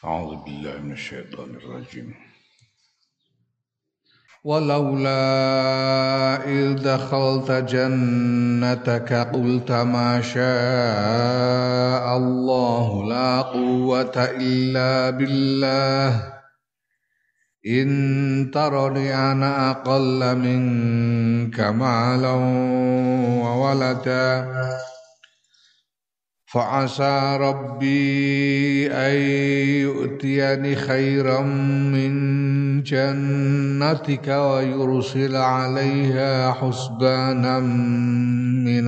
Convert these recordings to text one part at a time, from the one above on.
أعوذ بالله من الشيطان الرجيم. ولولا إذ دخلت جنتك قلت ما شاء الله لا قوة إلا بالله إن ترني أنا أقل منك مالا وولدا فعسى ربي أن يؤتيني خيرا من جنتك ويرسل عليها حسبانا من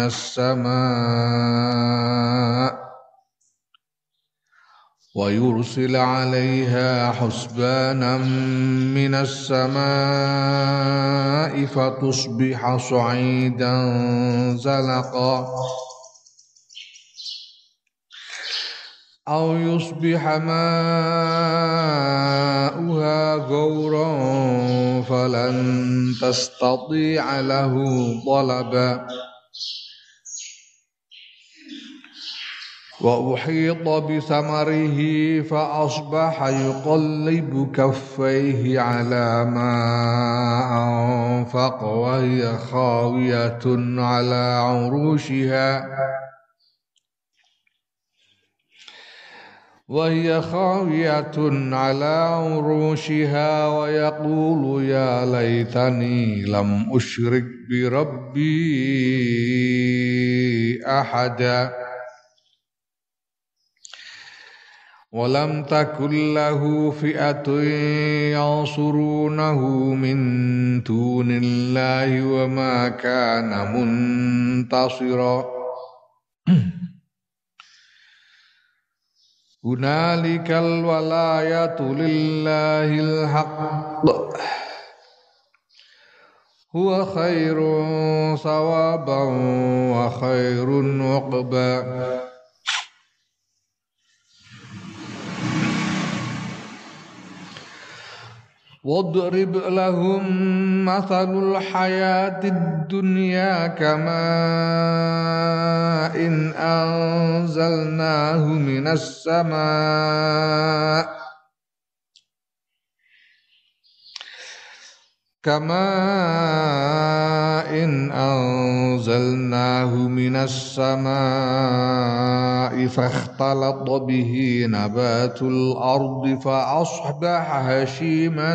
السماء فتصبح صعيدا زلقا أو يصبح ماؤها غورا فلن تستطيع له طلبا وأحيط بثمره فأصبح يقلب كفيه على ما أنفق وهي خاوية على عروشها ويقول يا ليتني لم أشرك بربي أحدا ولم تكن له فئة ينصرونه من دون الله وما كان منتصرا هنالك الولاية لله الحق هو خير ثوابا وخير عقبا واضرب لهم مثل الحياة الدنيا كماء إن أنزلناه من السماء فاختلط به نبات الأرض فأصبح هشيما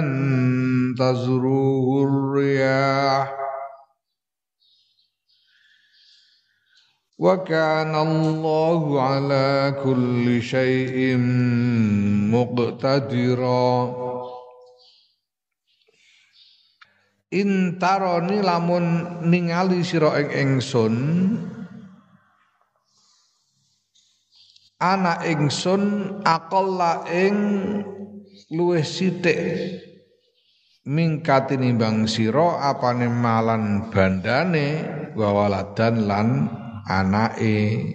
تذروه الرياح وكان الله على كل شيء مقتدرا Intaroni lamun ningali sira ing ingsun ana ingsun aqalla ing luwih sithik mingkat tinimbang sira apane malan bandane wawaladan lan anake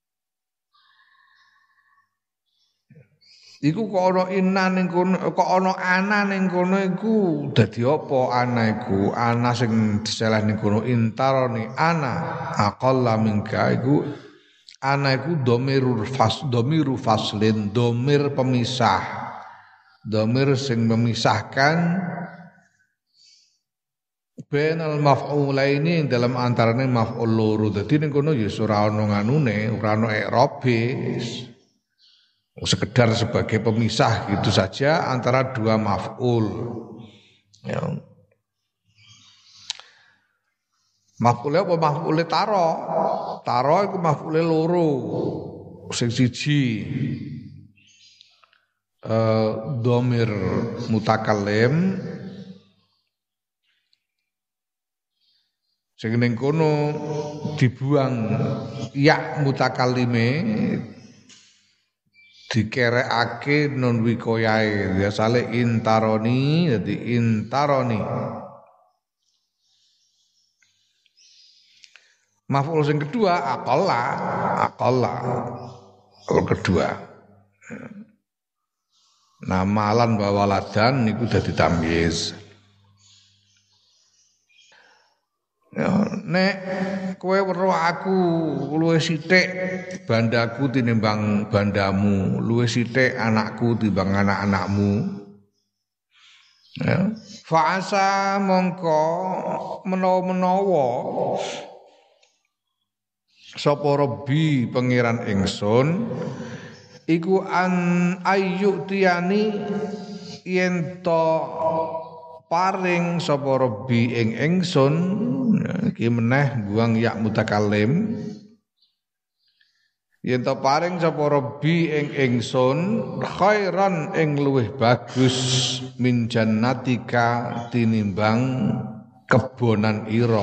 iku kok ana inan ning kono kok ana ana ning kono iku dadi apa ana iku ana sing diseleh ning kono intaroni ana aqalla mingka iku ana iku dhamiru faslin dhamir pemisah dhamir sing memisahkan bainal maf'ulaini dalam antarane maf'ul loro dadi ning kono ya ora ana nganune ora ana i'rabe sekedar sebagai pemisah gitu saja antara dua maf'ul ya. Maf'ule apa maf'ule taro iku maf'ule loro sing siji dhamir mutakallim sing ning kono dibuang ya mutakallime dikerekake non wikoyae biasane intaroni dadi intaroni maf'ul sing kedua aqalla kalau kedua namalan bawaladan niku dadi tamyiz ya nek kowe weruh aku luwih sithik bandaku tinimbang bandamu, luwih sithik anakku timbang anak-anakmu. Ya. Fa'asa mongko menawa-menawa sapa Rabbi pangeran ingsun iku an ayyutiyani yen to paring sapa Rabbi ing ingsun iki meneh buang ya mutakallim yen to paring sapa Rabbi ing ingsun khairan ing luwih bagus min jannatika tinimbang kebonan ira.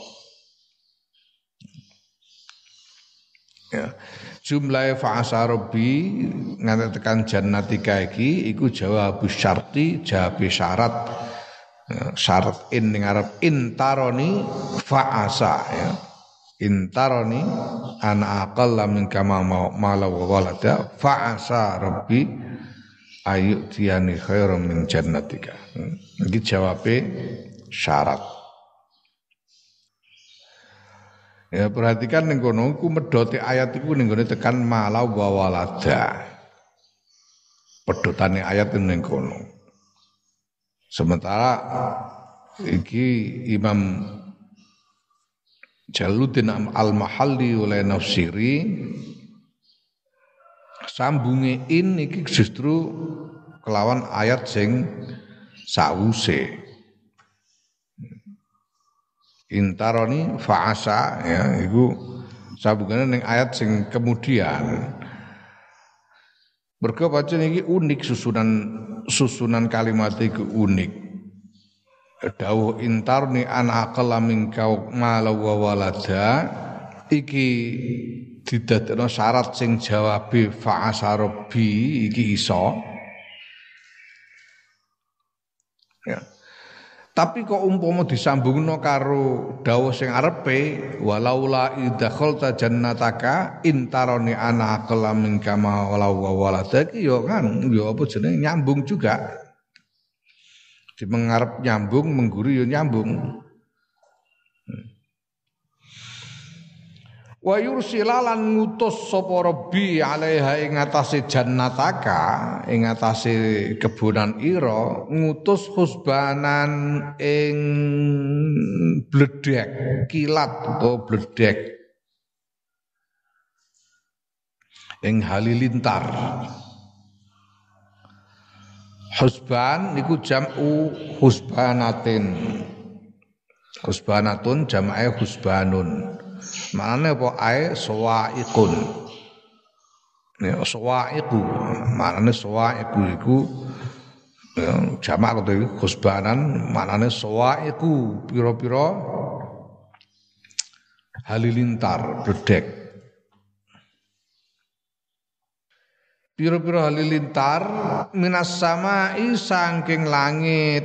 Ya. Jumlahe fa'asa Rabbi nganti tekan jannatika iki iku jawab syarti, jawab syarat. Ya, syarat in ning arep intaroni fa'asa ya. Intaroni ana aqalla min kama mala wa walada fa'asa Rabbi ayu tiani khairum min jannatika. Iki jawabe syarat. Ya perhatikan ning kono ku medhote ayat iku ning gone tekan mala wa walada. Pedhotane ayat ning kono. Sementara iki Imam Jaluddin Al-Mahalli oleh nafsiri sambunge in iki justru kelawan ayat sing sawuse. Intaroni fa'asa ya iku sambungane ning ayat sing kemudian. Mergo pancen iki unik susunan kalimat iku unik. Dawuh intarni an aqalla minka mala wa walada iki didadekno syarat sing jawabe fa'asa Rabbi iki iso. Ya. Tapi kok umpama disambungno karo dawuh sing arepe walaula idkhalta jannataka intaroni ana aqalla minka ma wala walada iki ya kan ya apa jenenge nyambung juga. Di mengarep nyambung mengguru ya nyambung. Wa yursilalan ngutus sapa Rabbi alaiha ing atase jannataka ing atase kebonan ira ngutus husbanan ing bledek kilat utawa bledek ing halilintar. Husban niku jam'u husbanatin. Husbanatun jam'e husbanun. Maknane apa ae sawa'iqun. Ya sawa'iqu. Maknane sawa'iqu iku ya, jamak to iki husbanan maknane sawa'iqu pira-pira halilintar bledek. Pira-pira halilintar minas samai saking langit.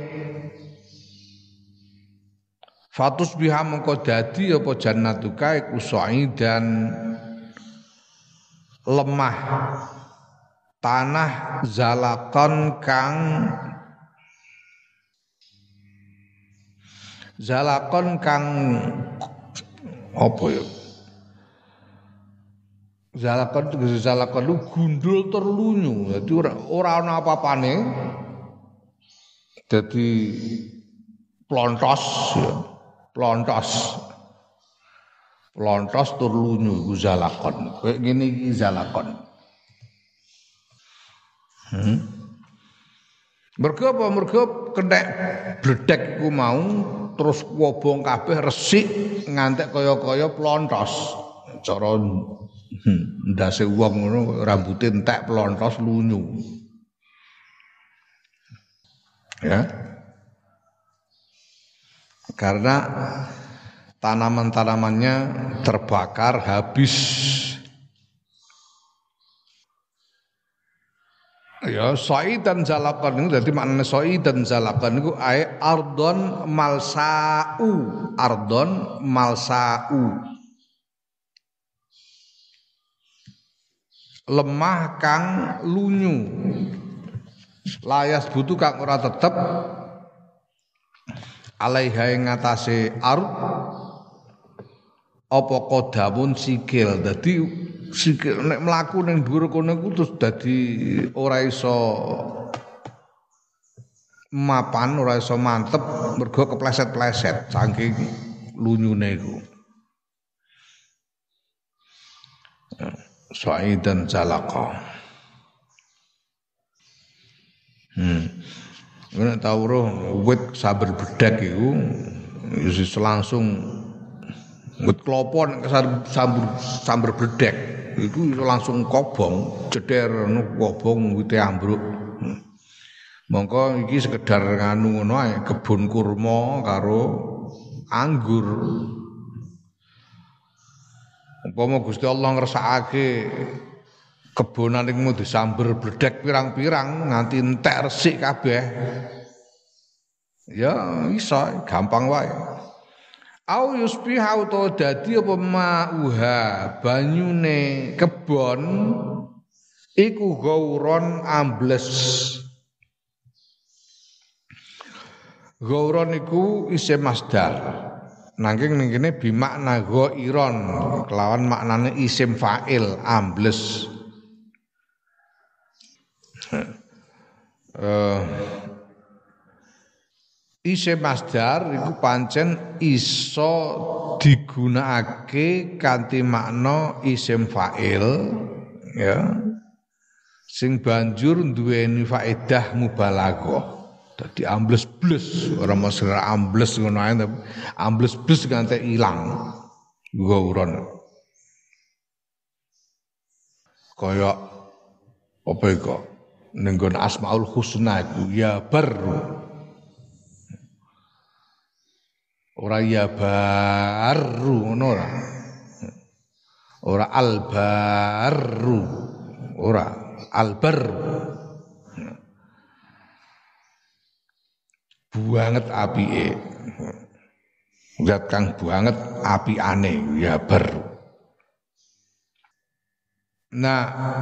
Fatus biha mengko dadi apa jannatuka iku sa'idan lemah tanah zalakon kang apa ya zalakon lu gundul terlunyu dadi ora ana apa-apane dadi plontos ya. Plontos terlunyu iku zalakon. Kayak ngene iki zalakon. Mergo apa? Mergo kethek bledek iku mau terus wobong kabeh resik ngantek kaya-kaya plontos. Cara ndase wong ngono rambuté entek plontos lunyu. Ya. Karena tanaman-tanamannya terbakar habis. Ya, soidan zalakon itu dadi maknane soidan zalakon niku ae ardon malsau. Lemah kang lunyu. Layas butuh kang ora tetep alaiha ing ngatasé ard apa kodamun sikil. Dadi sikil nek mlaku ning dhuwur kono iku terus dadi ora iso mapan, ora iso mantep mergo kepleset-pleset saking lunyune iku. Sa'idan zalaqa. Nek tau roh wit sabar bedhek iku wis langsung wit klopo nek sambar bedhek iku langsung kobong, ceder kobong wite ambruk. Mongko iki sekedar nganu ngono ae, kebun kurma karo anggur. Umpama Gusti Allah ngersakake kebonan iku disamber bledek pirang-pirang nganti entek resik kabeh. Ya iso, gampang wae. Au yusbiha utawa dadi apa ma'uha banyune kebon iku gauron ambles. Gauron iku isim masdar. Nanging ning kene bimakna ghairon kelawan maknane isim fa'il ambles. Isim masdar iku pancen iso digunakake kanthi makna isim fa'il ya. Sing banjur duweni faedah mubalaghah. Dadi ambles-bles, ora mesti ambles ngono ae, ambles-bles nganti ilang. Gauron. Kaya apa iku? Ning nggon Asmaul Husna iku ya baru. Ora ya baru ngono ora. Ora albaru. Ora albaru. Banget apike. Zat kang banget apiane ya baru. Nah,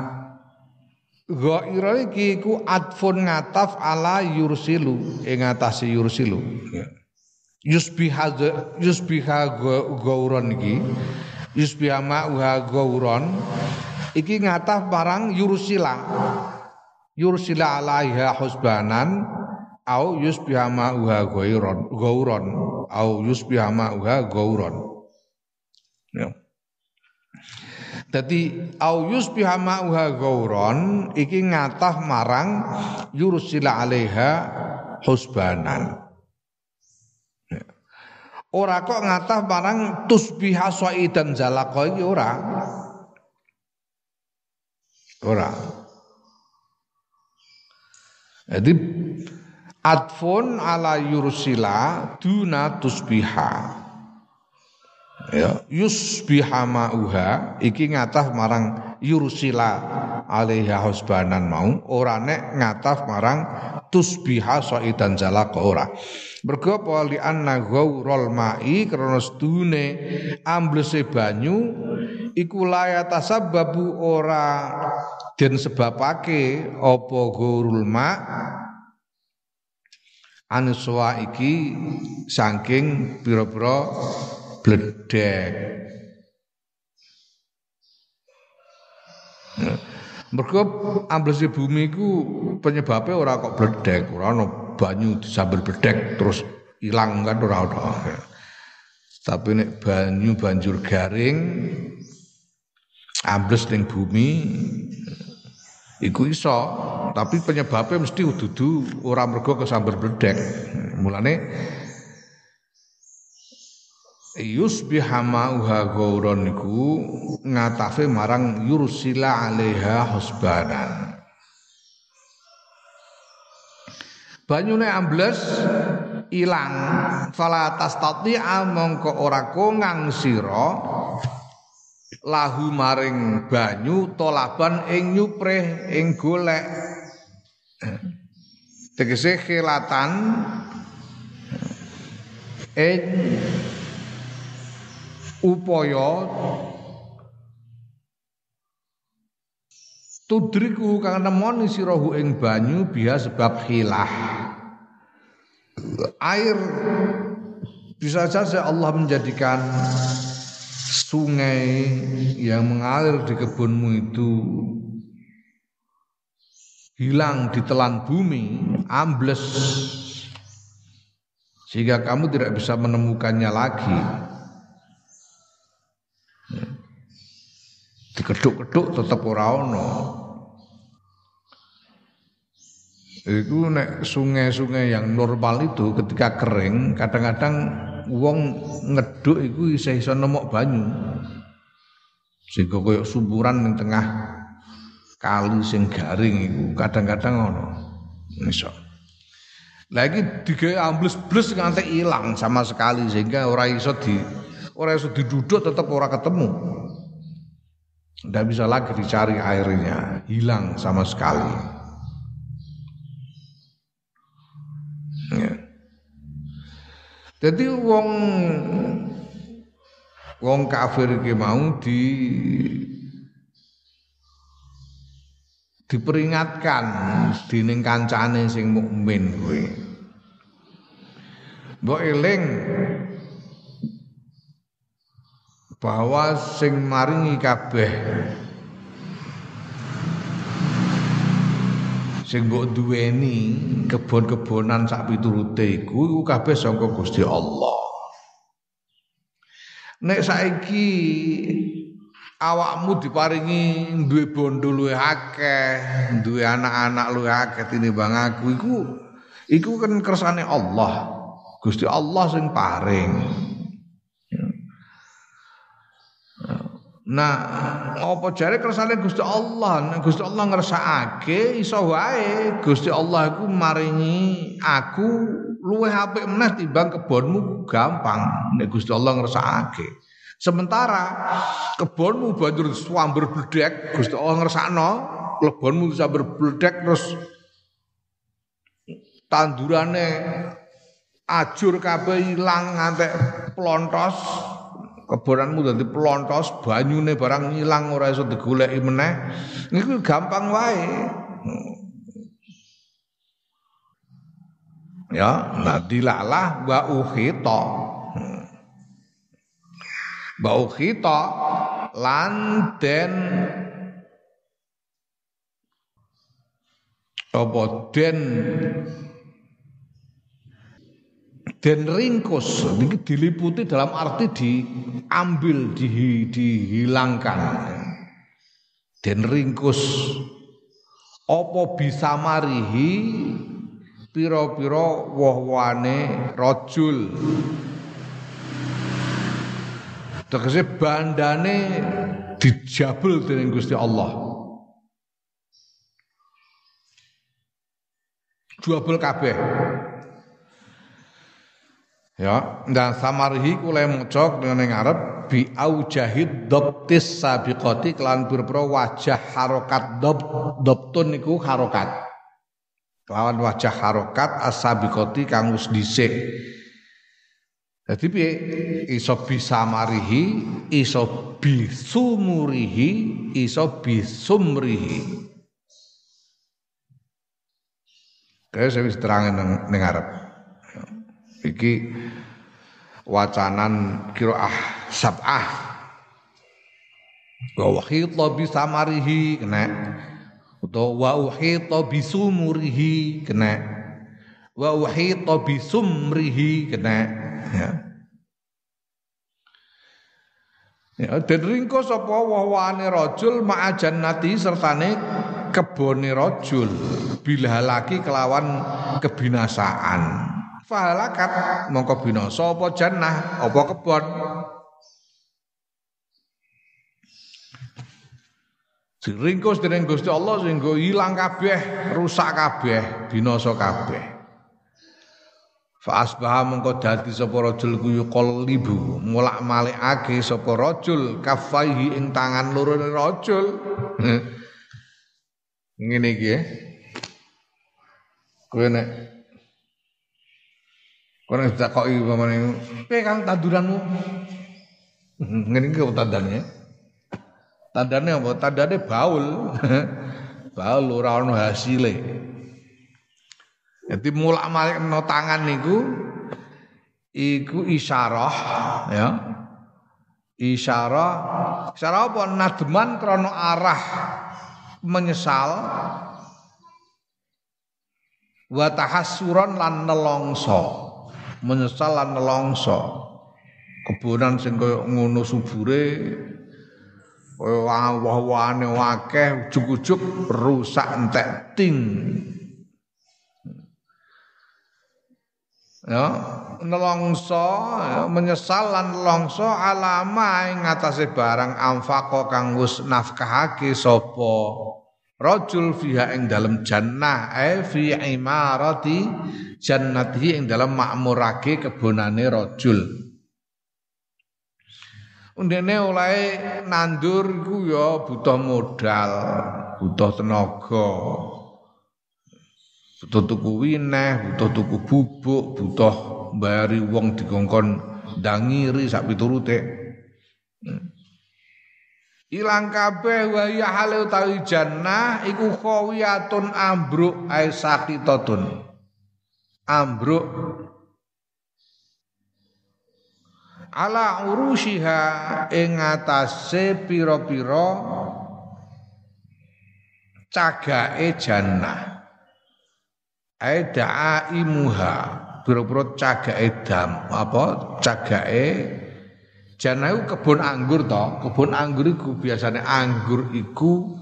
ghaira iki ku adfun ngataf ala yursilu ing atase yursilu. Yusbiha gauron iki yusbiha ma'uha gauron iki ngataf barang yursila alaiha husbanan au yusbiha ma'uha gauron au yusbiha ma'uha gauron ya. Dadi au yusbiha ma'uha gauron iki ngataf marang yursila alaiha husbanan. Ora kok ngatah barang tusbiha sa'idan zalaqa iki ora. Ora. Jadi adfun ala yursila duna tusbiha. Ya, yusbiha ma'uha iki ngatah marang yursila alaiha husbanan mau ora nek ngatah marang tusbiha sa'idan zalaqa ora. Mergo apa li anna ghaurul ma'i krana sedune amblese banyu iku layata sababu ora den sebabake apa ghaurul ma' anuswa iki saking pira-pira bledek. Mergo amblese bumi iku penyebabnya ora kok bledek, ora ono banyu disambar bledek terus ilang kan ora ono. Tapi nek banyu banjur garing ambles ning bumi iku iso, tapi penyebabnya mesti dudu ora mergo kesambar bledek. Mulane yusbiha ma'uha gauron niku ngatafe marang yursila alaiha husbanan. Banyune ambles ilang fala tastati'a mongko ora kongang sira lahu maring banyu tolaban ing nyuprih ing golek. Tegese khilatan upaya tudriku kang nemoni sirahu ing banyu biha sebab khilah. Air bisa saja Allah menjadikan sungai yang mengalir di kebunmu itu hilang ditelan bumi, ambles, sehingga kamu tidak bisa menemukannya lagi. Dikeduk-keduk tetap ora ono. Itu nek sungai-sungai yang normal itu ketika kering, kadang-kadang wong ngeduk iku iso nemok banyu. Sehingga koyo sumburan ning tengah kali sing garing iku kadang-kadang ono. Iso. Lagi digawe ambles-bles nganti ilang sama sekali sehingga ora iso diduduk tetap ora ketemu. Tidak bisa lagi dicari airnya, hilang sama sekali. Ya. Jadi wong kafir iki mau diperingatkan dening kancane sing mukmin kuwi. Mbok eling bahwa sing maringi kabeh sing mbok duweni kebon-kebonan sak piturute iku kabeh saka Gusti Allah. Nek saiki awakmu diparingi duwe bondo luwih akeh, duwe anak-anak luwih akeh tinimbang aku iku kan kersane Allah. Gusti Allah sing paring. Nah, apa jare kersane Gusti Allah? Nek Gusti Allah ngersakake iso wae Gusti Allah iku maringi aku luwih apik meneh timbang kebonmu gampang nek Gusti Allah ngersakake. Sementara kebonmu banjur swamber bledek, Gusti Allah ngersakno, lebonmu sambar bledek terus tandurane ajur kabeh ilang ngantek plontos. Kebonanmu dadi pelontos, banyune barang ngilang ora iso digoleki meneh. Niku gampang wae. Ya, nadilalah wa ukhita. Wa ukhita lan den apa den ringkus ini diliputi dalam arti diambil dihilangkan den ringkus apa bisa marihi pira-pira woh-wohane rajul tegese bandane dijabel dening Gusti Allah juabel kabeh. Ya, dan samarihi kula maca dengan ngarep bi aujahid dabtis sabiqati kelan pira-pira wajah harokat dabtun niku harokat. Kelawan wajah harokat as-sabiqati kang wis dhisik. Dadi piye iso bisa marihi, iso bisumurihi, iso bisumrihi. Kaya saya wis terangin ning ngarep. Iki wacanan qiraah sab'ah wa uhita bi samarihi kena utawa wa uhita bi sumurihi kena wa uhita bi sumrihi kena ya den ringkos apa wawane rajul ma'a jannati sertane kebone rajul bila laki kelawan kebinasaan fahalakat mongko binasa apa jannah apa kebon diringkus dening Gusti Allah sehingga ilang kabeh rusak kabeh binasa kabeh fa asbaha mongko dadi sapa rajul ku yuqallibu mulak-malikake sapa rajul kafaihi ing tangan loro rajul ngene iki kowe nek kono ditakoki pamane piye Kang tanduranmu ngene iki tandane tandane apa tandane baul baul ora ono hasile dadi mulak-malik no tangan niku iku isyarah ya Isyarah apa nadman krana arah menyesal wa tahassuran lan nelongso menyesal lan nelongso kebonan sing kaya ngono subure kaya wah-wahane akeh ujug-ujug rusak entek ting ya nelongso ya, menyesal lan nelongso alama ing ngatasé barang anfaqa kang wis nafkahake sapa rajul fiha ing dalem jannah fi imarati jannati ing dalem makmurake kebonane rajul. Undene oleh nandur iku ya butuh modal, butuh tenaga. Butuh tuku wineh, butuh tuku bubuk, butuh bayari wong dikongkon ndangiri sak piturute. Ilang kabeh wa ya hale utawi jannah iku khawiyatun ambruk ai saqitatun. Ambruk ala urushiha ing atase pira-pira cagake jannah. Ai daimuha pira-pira cagake cagake jannah iku kebun anggur to. Kebun anggur iku biasane anggur iku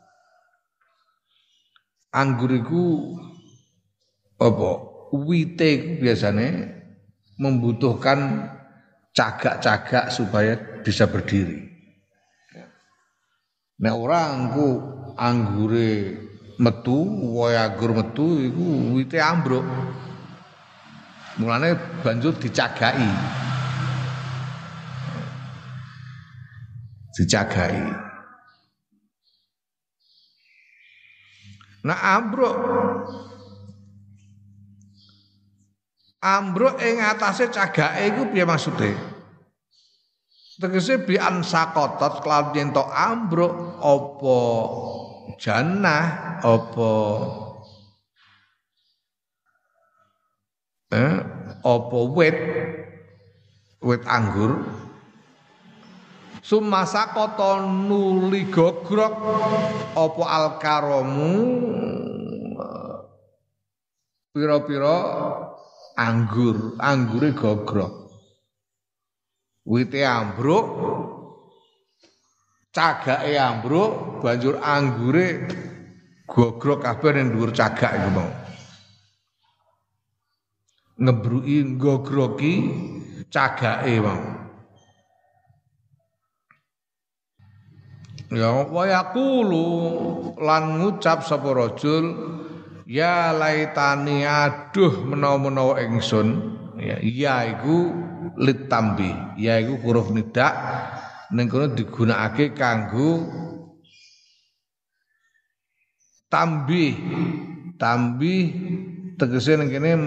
apa wite iku biasane membutuhkan cagak-cagak supaya bisa berdiri. Nek ora engko anggure metu, wohe anggur metu iku wite ambruk. Mulane banjur dicagaki. Nah ambruk ing atase cagake iku piye maksude? Tegese bi ansaqatat kelawan yen to ambruk apa jannah apa wit anggur sumasaqata nuli gogrok apa alkaramu pira-pira anggure gogrok wite ambruk cagake ambruk banjur anggure gogrok kabeh ning dhuwur cagak iku mau ngebruki gogroki cagake mau ya wa yaqulu lan ngucap sapa rajul ya laitani aduh menawa-menawa ingsun ya iku litambi ya iku huruf nida ning kono digunakake kanggo tambih tegese ning kene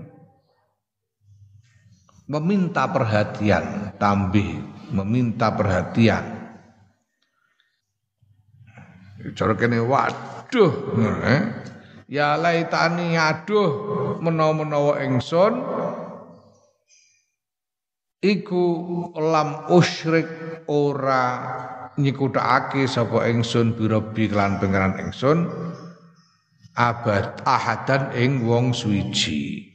meminta perhatian meminta perhatian cara kene waduh ya laitani aduh menawa-menawa ingsun iku lam usyrik ora nyekuthake sapa ingsun birabi kelan pangeran ingsun abad ahadan ing wong suwiji.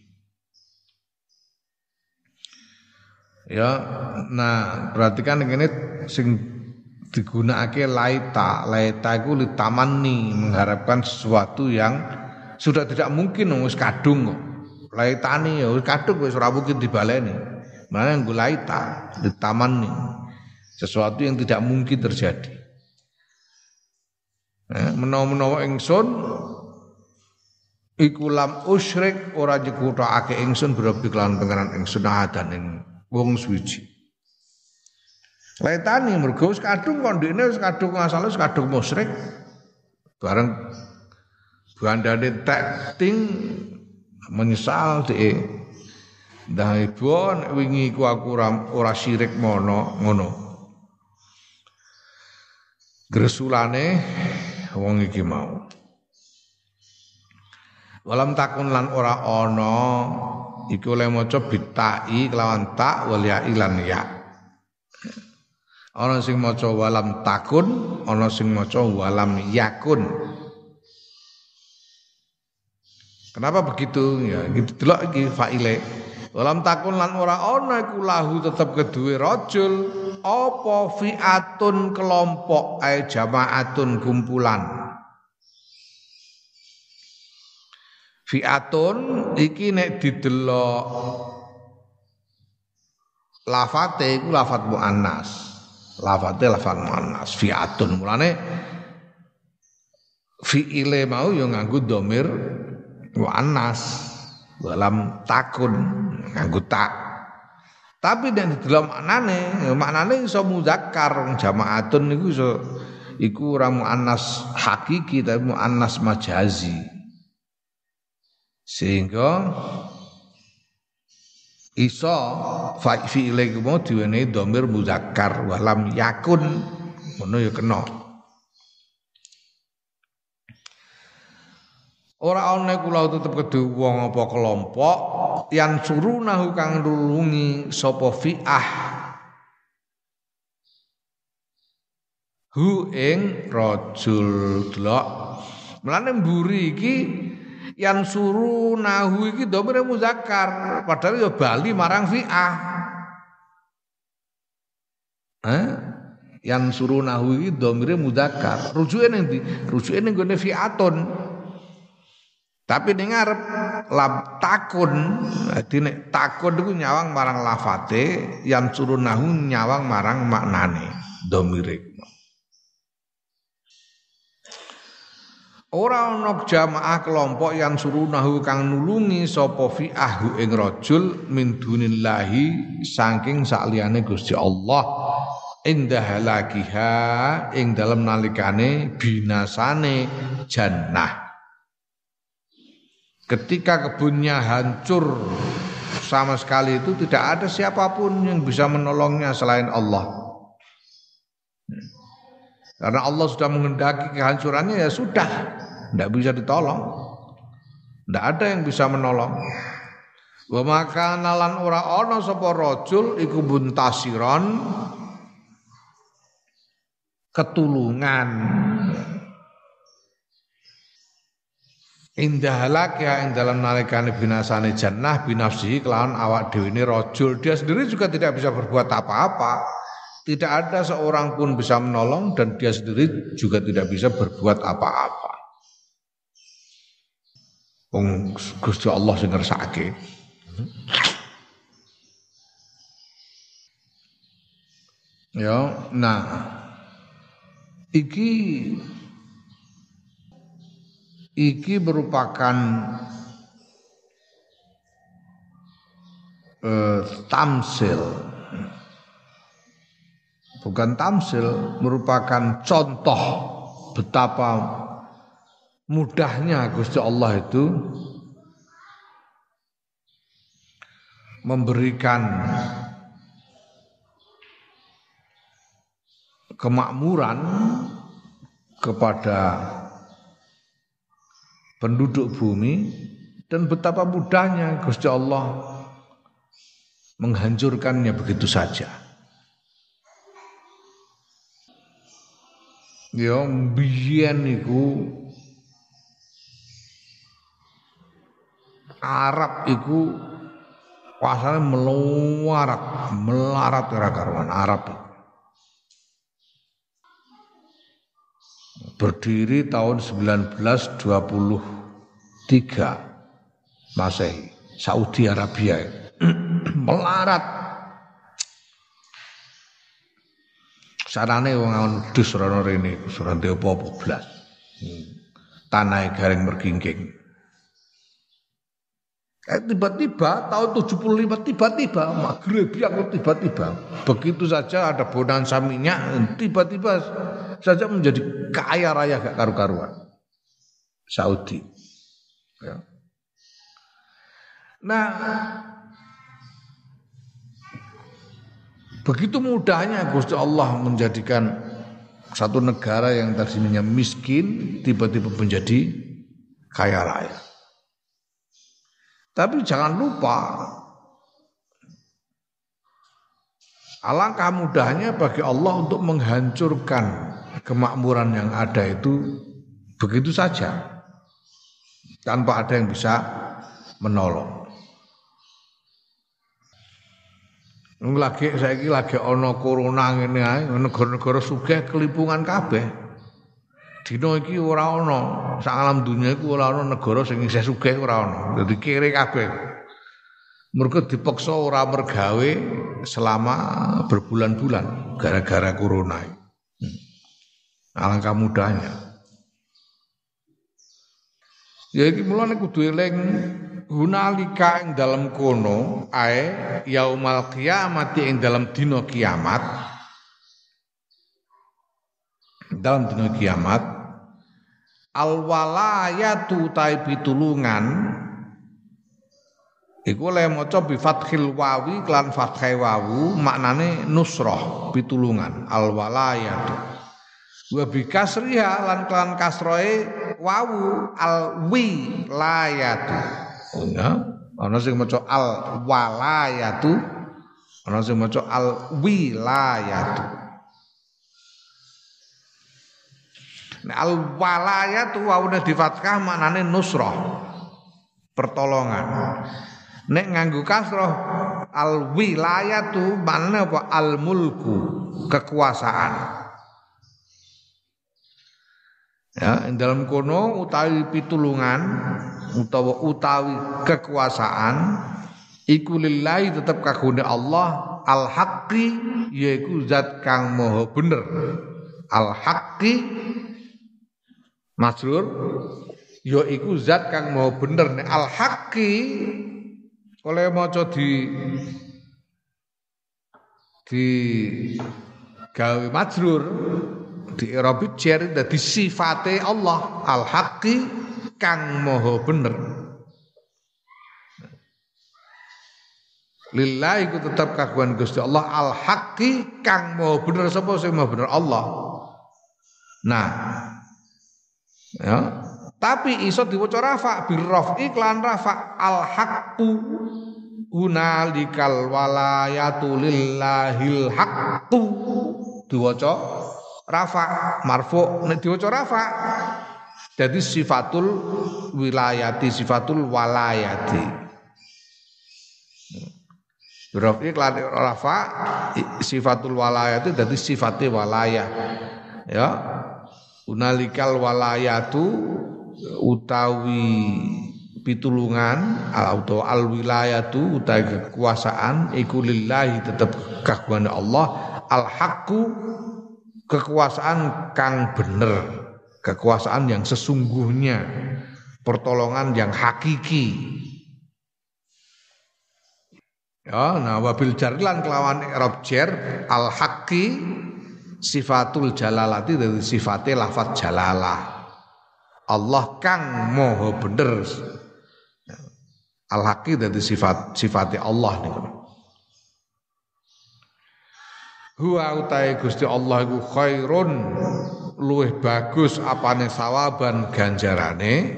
Ya, nah perhatikan ini sing digunakake laita iku litamanni mengharapkan sesuatu yang sudah tidak mungkin wis kadung kok. Laitani ya wis kadung wis ora mungkin dibaleni. Mana yang laita litamanni sesuatu yang tidak mungkin terjadi. Menawa-menawa ingsun iku lam usyrik ora nyekuthake ingsun birabi kelan pangeran ingsun ahadan ing wong suwiji. Laitani mergo wis kadung kondine wis kadung asale wis kadung musyrik. Bareng bandane tek ting menyesal dhek. Ndah ibu nek wingi ku aku ora syirik ngono. Gresulane wong iki mau. Walam takun lan ora ana iku oleh maca bitai kelawan tak wal ya lan ya. Ana sing maca walam takun, ana sing maca walam yakun. Kenapa begitu? Ya, gitu delok iki faile. Walam takun lan ora ana iku lahu tetep keduwe rajul apa fi'atun kelompok ay jamaatun kumpulan. Fi'atun iki nek didelok lafate iku lafat muannas. Lafate lafat muannas fi'atun. Mulane fi'ile mau yo nganggo dhamir muannas. Walam takun nganggo tak. Tapi nek didelok maknane iso muzakkar jamaatun niku iku ora muannas hakiki tapi muannas majazi. Sehingga iso fi'ile iku mau diwenehi dhamir muzakkar walam yakun ngono ya kena. Ora ana kula tetep kedhe wong apa kelompok yang surunahu kang nulungi sapa fi'ah hu ing rajul delok. Mulane mburi iki yang surunahu iki dhamire muzakkar padahal ya bali marang fi'ah. Yang surunahu iki dhamire muzakkar. Rujuke ning ndi? Rujuke ning gone fi'atun. Tapi ning ngarep lab takun, dadi nek takun iku nyawang marang lafate, yang surunahu nyawang marang maknane dhamire. Ora ana jamaah kelompok yang surunahu kang nulungi sapa fi'ah ing rajul min dunillahi saking sakliyane Gusti Allah inda halakiha ing dalem nalikane binasane jannah. Ketika kebunnya hancur sama sekali itu tidak ada siapapun yang bisa menolongnya selain Allah. Karena Allah sudah menghendaki kehancurannya ya sudah, tidak bisa ditolong. Tidak ada yang bisa menolong. Wa makana lan ora ana sapa rajul iku buntasiron ketulungan. Indah halak ya ing dalam nalikane binasane jannah binafsihi kelawan awak dhewe ne rajul, dia sendiri juga tidak bisa berbuat apa-apa. Tidak ada seorang pun bisa menolong dan dia sendiri juga tidak bisa berbuat apa-apa. Wong Gusti Allah sing ngersakake. Ya, nah iki merupakan tamsil, bukan tamsil, merupakan contoh betapa mudahnya Gusti Allah itu memberikan kemakmuran kepada penduduk bumi dan betapa mudahnya Gusti Allah menghancurkannya begitu saja. Ya biyen niku Arab iku pasane melarat ora karuan Arab. Berdiri tahun 1923 Masehi, Saudi Arabia. Melarat. Sarane wong awon wedhus rono rene, ora ndek apa-apa blas. Tanahe garing mergingking. Tiba-tiba tahun 75 tiba-tiba Maghrib yang tiba-tiba begitu saja ada bonanza minyak, tiba-tiba saja menjadi kaya raya gak karu-karuan Saudi. Ya. Nah, begitu mudahnya Gusti Allah menjadikan satu negara yang tadinya miskin tiba-tiba menjadi kaya raya. Tapi jangan lupa Alangkah mudahnya bagi Allah untuk menghancurkan kemakmuran yang ada itu begitu saja tanpa ada yang bisa menolong. Saiki lagi ana corona ngene ae, negara-negara sugih kelimpungan kabeh. Dina iki ora ana, sak alam dunya iku ora ana negara sing isih sugih ora ana. Dadi kere kabeh. Mergo dipaksa ora mergawe selama berbulan-bulan gara-gara corona. Alangkah mudahnya. Ya iki mulane kudu eling hunalika ing dalam kono ae yaumal qiyamati ing dalam dina kiamat. Dalam dina kiamat al walayatu ta pitulungan iku le maca bi fathil wawi klan fathai wawu maknane nusrah pitulungan al walayatu wa bi kasriha lan klan kasroe wawu al wilayatu ya ana sing maca al walayatu ana sing maca al wilayatu. Nah, al walayatu wawune di fathah maknane nusrah pertolongan. Nek nganggo kasrah al wilayatu maknane apa al mulku kekuasaan. Ya, dalam kono utawi pitulungan utawi kekuasaan iku lillahi tetep kagone Allah al haqqi yaiku zat kang maha bener. Al haqqi masrur ya iku zat kang maha bener nek al haqqi oleh maca di gawe majrur di i'rab jar dadi sifate Allah al haqqi kang maha bener. Lillahi ku tetap kagungan Gusti Allah al haqqi kang maha bener. Sapa sing maha bener? Allah. Nah, ya, tapi iso diwaca rafa bil rafi iklan rafa al haqqu hunalikal walayatu lillahil haqqu diwaca rafa marfu nek diwaca rafa jadi sifatul wilayati sifatul walayati rafi iklan rafa sifatul walayati jadi sifatnya walayah ya. Unalikal walayatu utawi pitulungan atau al wilayatu utawi kekuasaan iku lillahi tetep kagungan Allah al haqqu kekuasaan kang bener kekuasaan yang sesungguhnya pertolongan yang hakiki ya. Nah wabil jarlan kelawan i'rab jar al haqqi sifatul jalalati dari sifatnya lafaz jalalah Allah kang maha bener al-haqi dari sifatnya Allah niku huwa utai Gusti Allah iku khairun luwih bagus apane sawaban ganjarane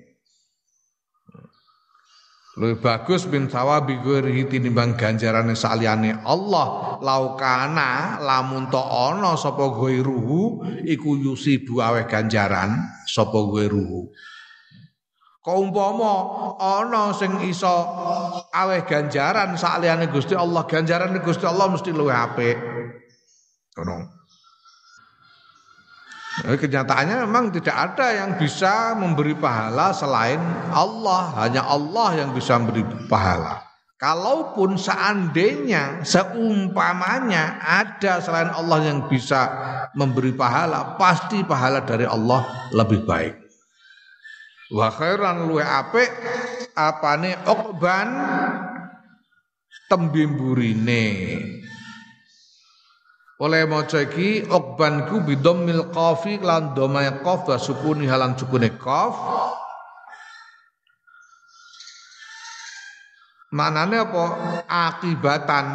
luwih bagus min sawabi ghairihi tinimbang ganjarane saliyane Allah laukana lamun to ana sapa ghairuhu iku yusibu aweh ganjaran sapa ghairuhu kaumpama ana sing iso aweh ganjaran saliyane Gusti Allah ganjarane Gusti Allah mesti luwih apik ngono. Kenyataannya memang tidak ada yang bisa memberi pahala selain Allah. Hanya Allah yang bisa memberi pahala. Kalaupun seandainya, seumpamanya ada selain Allah yang bisa memberi pahala, pasti pahala dari Allah lebih baik. Wa khairan luwe apik apane uqban tembimburine. Oleh maca iki uqban ku bidammil qafi lan dhamma qaf wa sukuni halan sukune qaf. Manane apa? Akibatan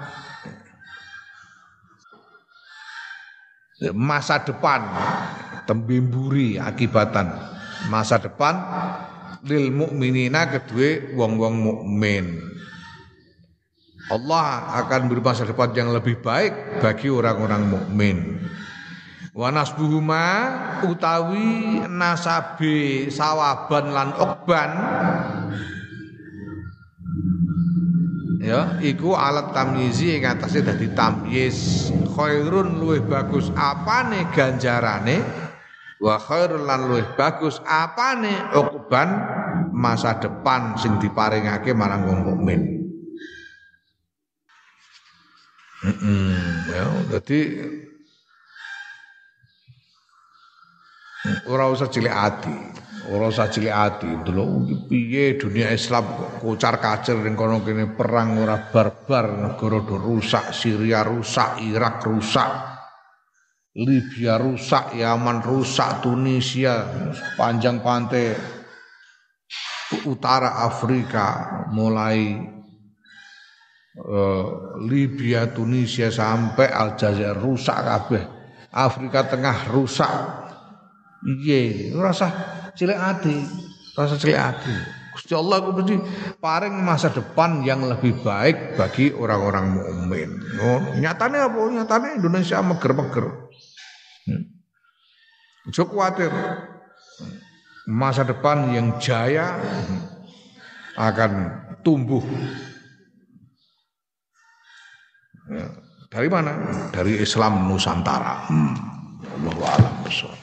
masa depan tembimburi akibatan masa depan lil mukminina kedue wong-wong mukmin. Allah akan beri masa depan yang lebih baik bagi orang-orang mukmin. Wa nasbuhuma utawi nasabe sawaban lan ukban ya iku alat tamyizi ing atase dadi tamyiz. Khairun luwih bagus apane ganjarane, wa khairul lan luwih bagus apane ukban masa depan sing diparingake marang wong mukmin. Ya, jadi ora usah cilik ati, delok piye dunia Islam kocar-kacir ning kono kene perang ora barbar, negara do rusak, Syria rusak, Irak rusak, Libya rusak, Yaman rusak, Tunisia, panjang pantai utara Afrika mulai Libya, Tunisia sampai Aljazair rusak kabeh. Afrika Tengah rusak. Iye, rasa cilik ati. Gusti Allah ku mesti paring masa depan yang lebih baik bagi orang-orang mukmin. Oh, nyatane apa? Nyatane Indonesia meger-meger. Ojo kuwatir. Masa depan yang jaya akan tumbuh. Ya, dari mana? Dari Islam Nusantara. Allahu a'lam bishawab.